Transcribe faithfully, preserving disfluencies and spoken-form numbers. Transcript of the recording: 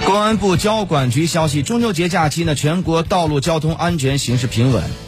公安部交管局消息，中秋节假期呢，全国道路交通安全形势平稳。